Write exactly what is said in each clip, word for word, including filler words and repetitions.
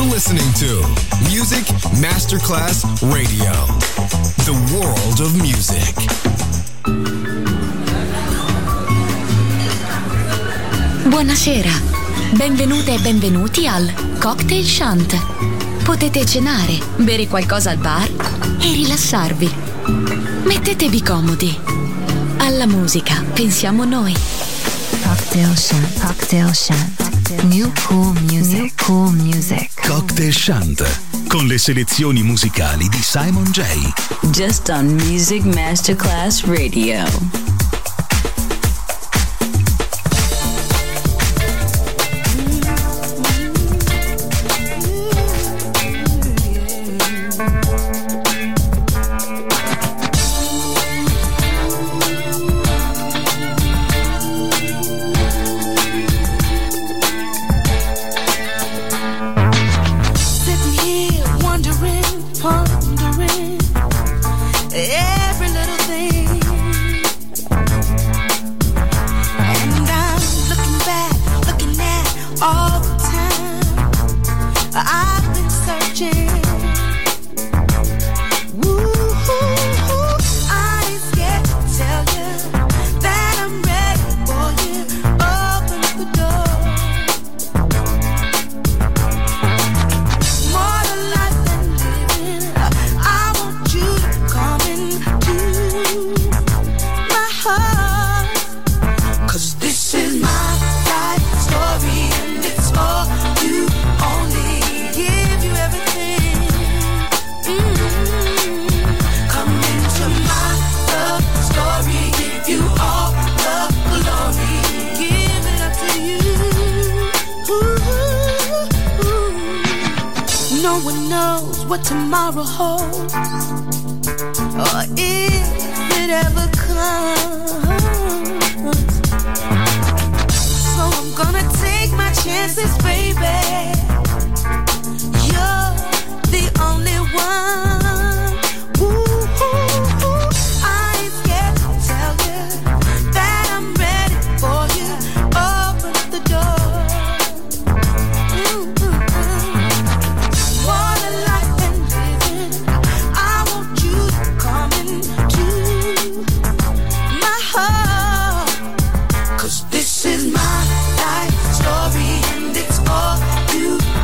listening to Music Masterclass Radio, the world of music. Buonasera, benvenute e benvenuti al Cocktail Shant. Potete cenare, bere qualcosa al bar e rilassarvi. Mettetevi comodi. Alla musica pensiamo noi. Cocktail Shant, Cocktail Shant. New cool music, New cool music. Cocktail Shant, con le selezioni musicali di Simon J. Just on Music Masterclass Radio. What tomorrow holds, or if it ever comes. So I'm gonna take my chances, baby. You're the only one. Ooh, ooh, ooh. I ain't scared to tell you that I'm ready for you. Open the door. Ooh, ooh, ooh. What a life. This is my life story and it's all you.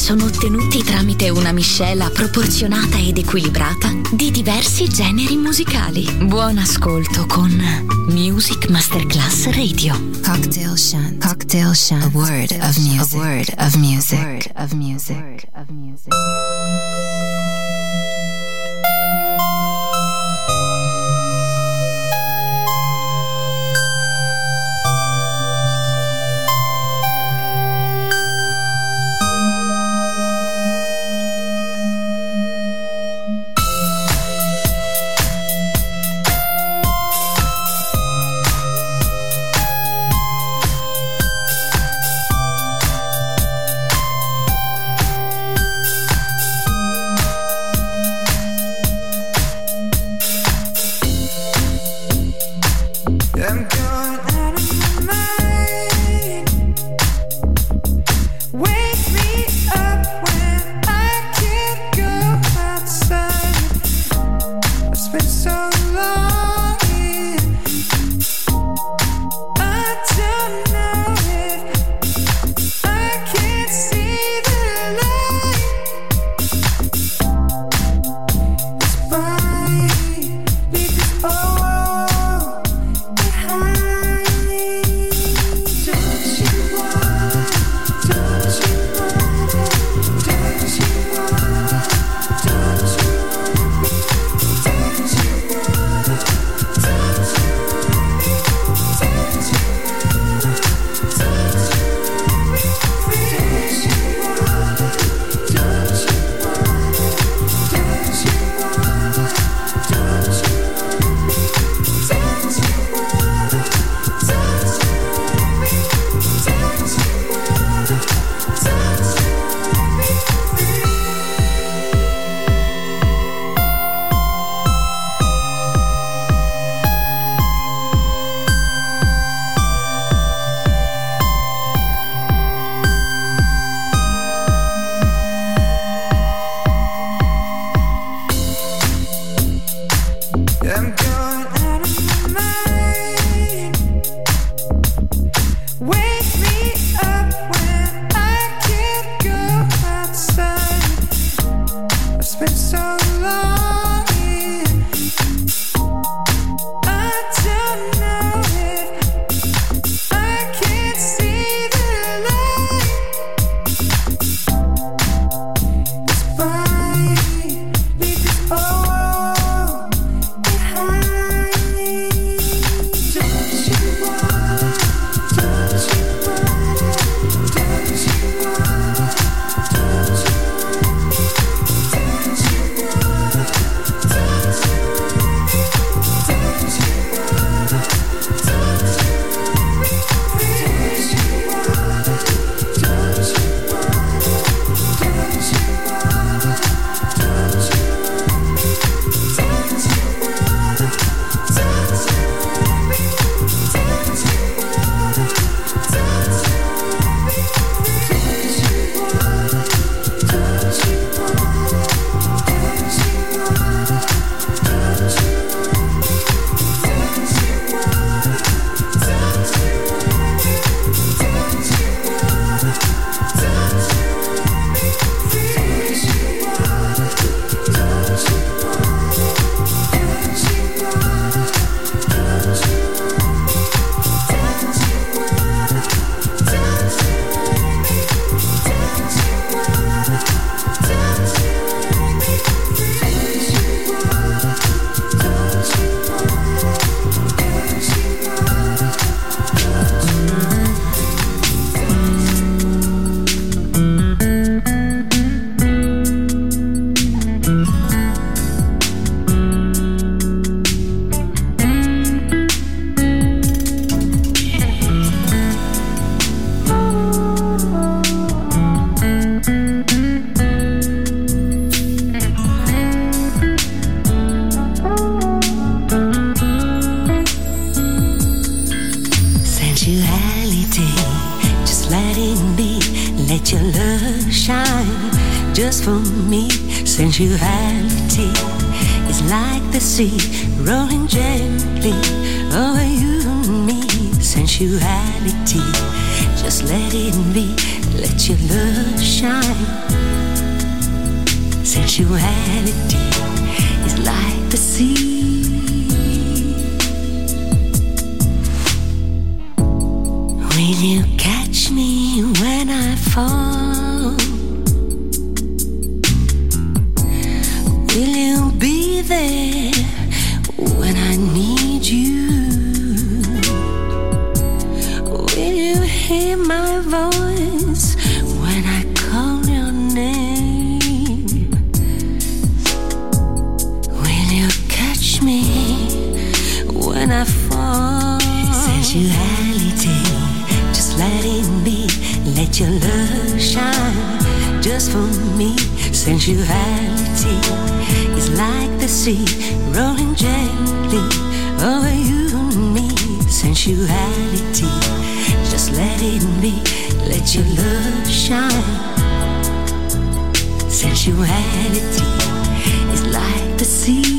sono ottenuti tramite una miscela proporzionata ed equilibrata di diversi generi musicali. Buon ascolto con Music Masterclass Radio. Cocktail Shant. Cocktail Shant. A word of music. A word of music. A word of music. A word of music. just for me. Sensuality is like the sea rolling gently over you and me. Sensuality, just let it be. Let your love shine. Sensuality is like the sea. Will you catch me when I fall? Will you be there when I need you? Will you hear my voice when I call your name? Will you catch me when I fall? Sensuality, just let it be. Let your love shine just for me. Sensuality is like the sea rolling gently over you and me. Sensuality, just let it be. Let your love shine. Sensuality is like the sea.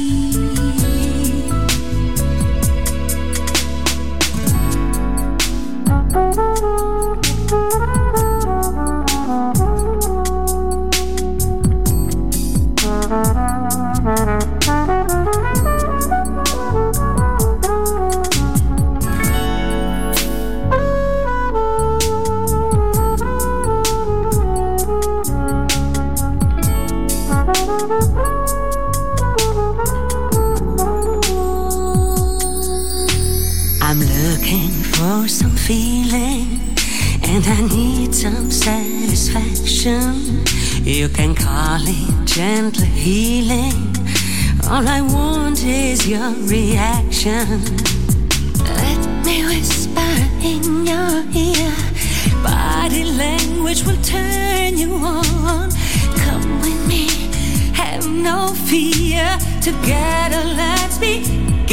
Some feeling, and I need some satisfaction. You can call it gentle healing. All I want is your reaction. Let me whisper in your ear. Body language will turn you on. Come with me, have no fear. Together let's be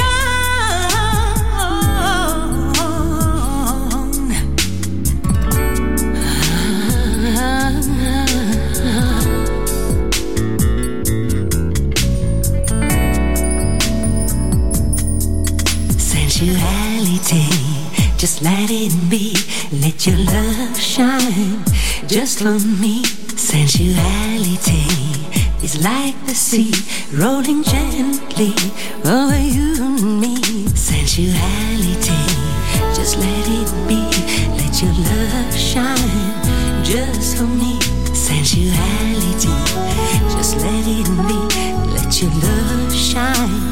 sensuality, just let it be. Let your love shine just for me. Sensuality is like the sea rolling gently over you and me. Sensuality, just let it be. Let your love shine just for me. Sensuality, just let it be. Let your love shine.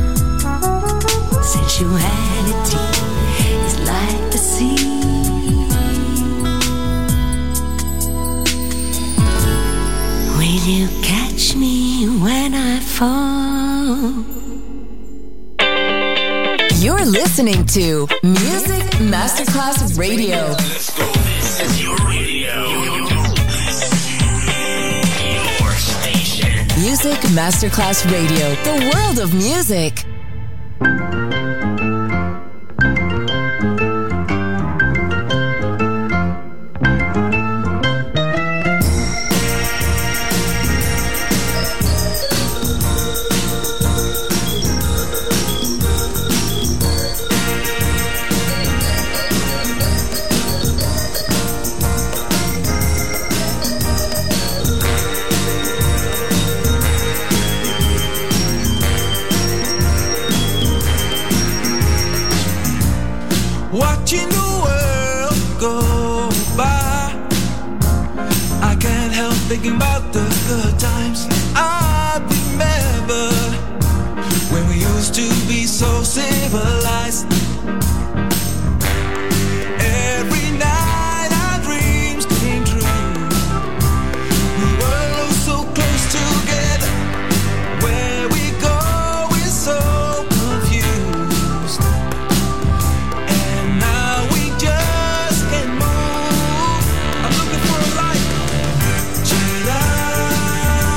Sensuality is like the sea. Will you catch me when I fall? You're listening to Music Masterclass Radio. Let's go. This is your radio. Your station. Music Masterclass Radio. The world of music. Watching the world go by, I can't help thinking about the good times. I remember when we used to be so civilized. Every night our dreams came true. We were so close together. Where we go is so confused. And now we just can't move. I'm looking for a light. Check it out.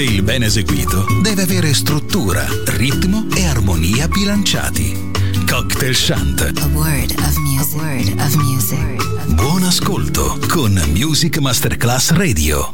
cocktail ben eseguito deve avere struttura, ritmo e armonia bilanciati. Cocktail Shant. A word of music. A word of music. Buon ascolto con Music Masterclass Radio.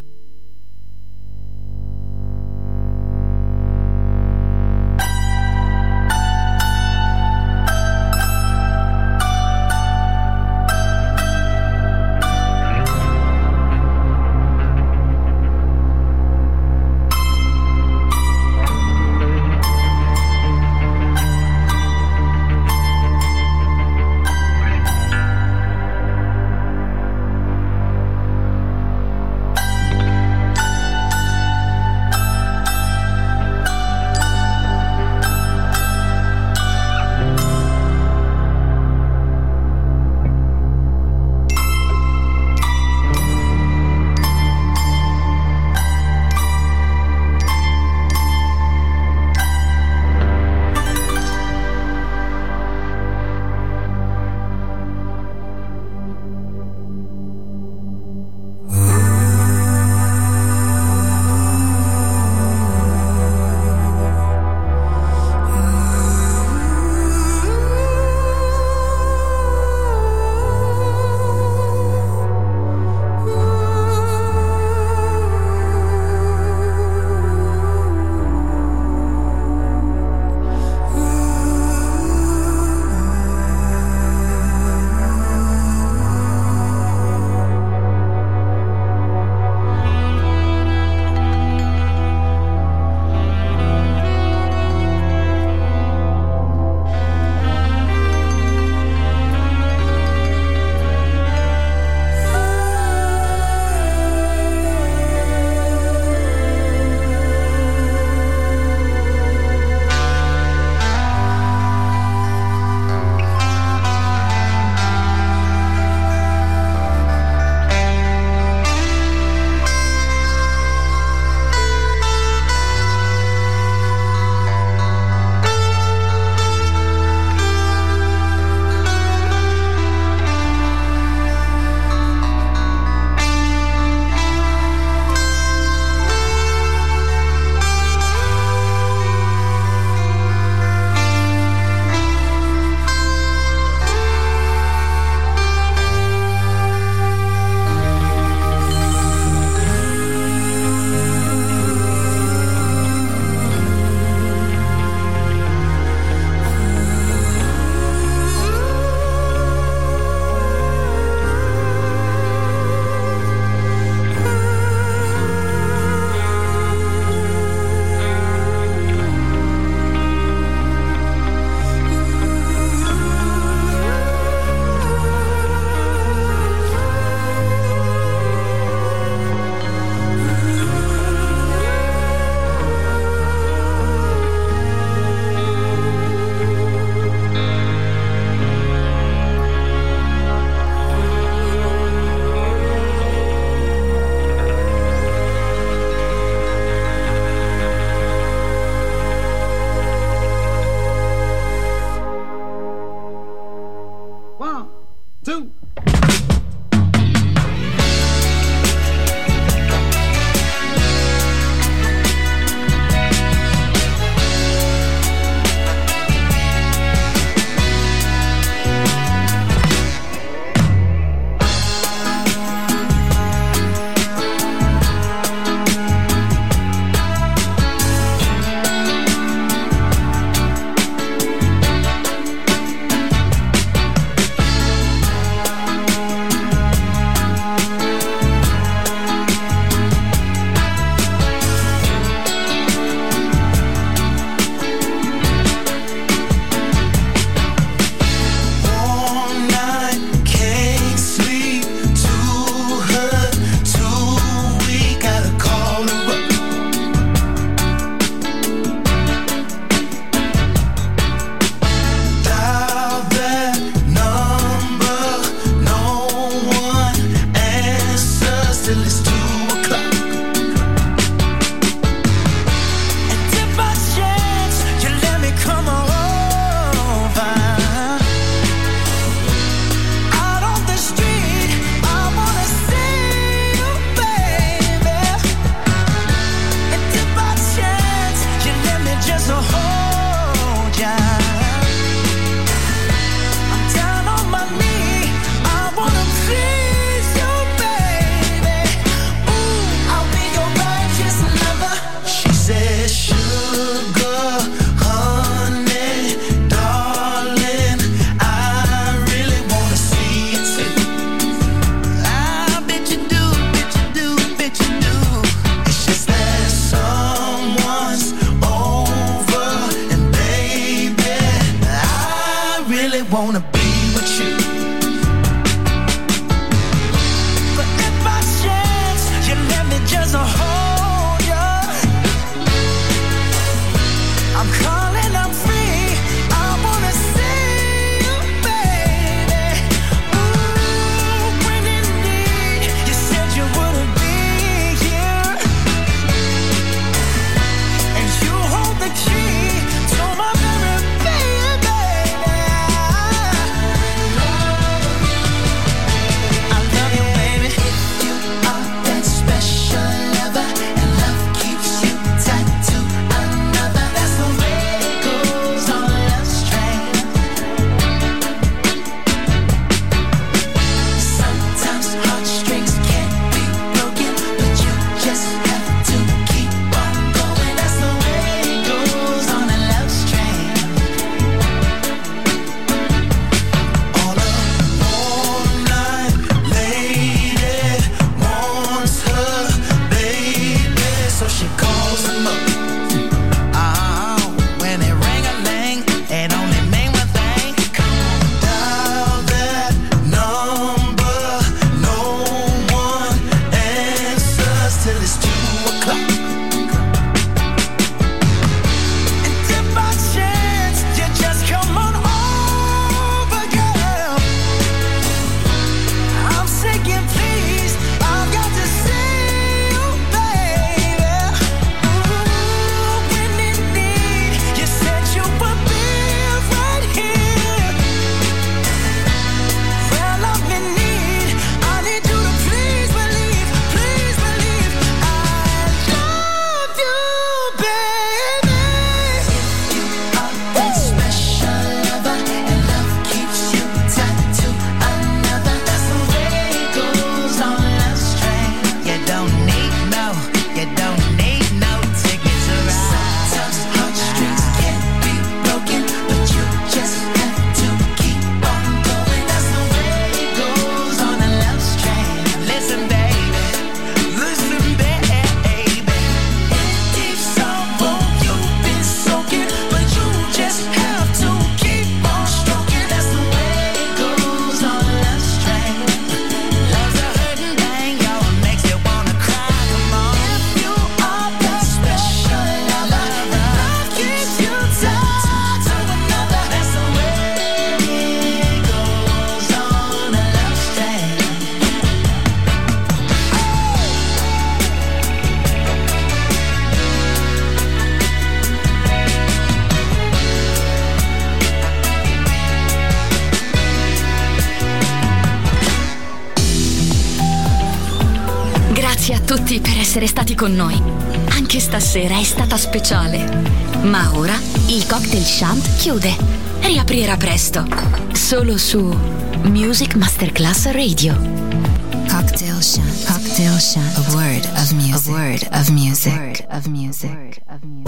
tutti per essere stati con noi. Anche stasera è stata speciale. Ma ora il Cocktail Shant chiude. Riaprirà presto. Solo su Music Masterclass Radio. Cocktail Shant. Cocktail Shant. A word of music. A word of music. A word of music.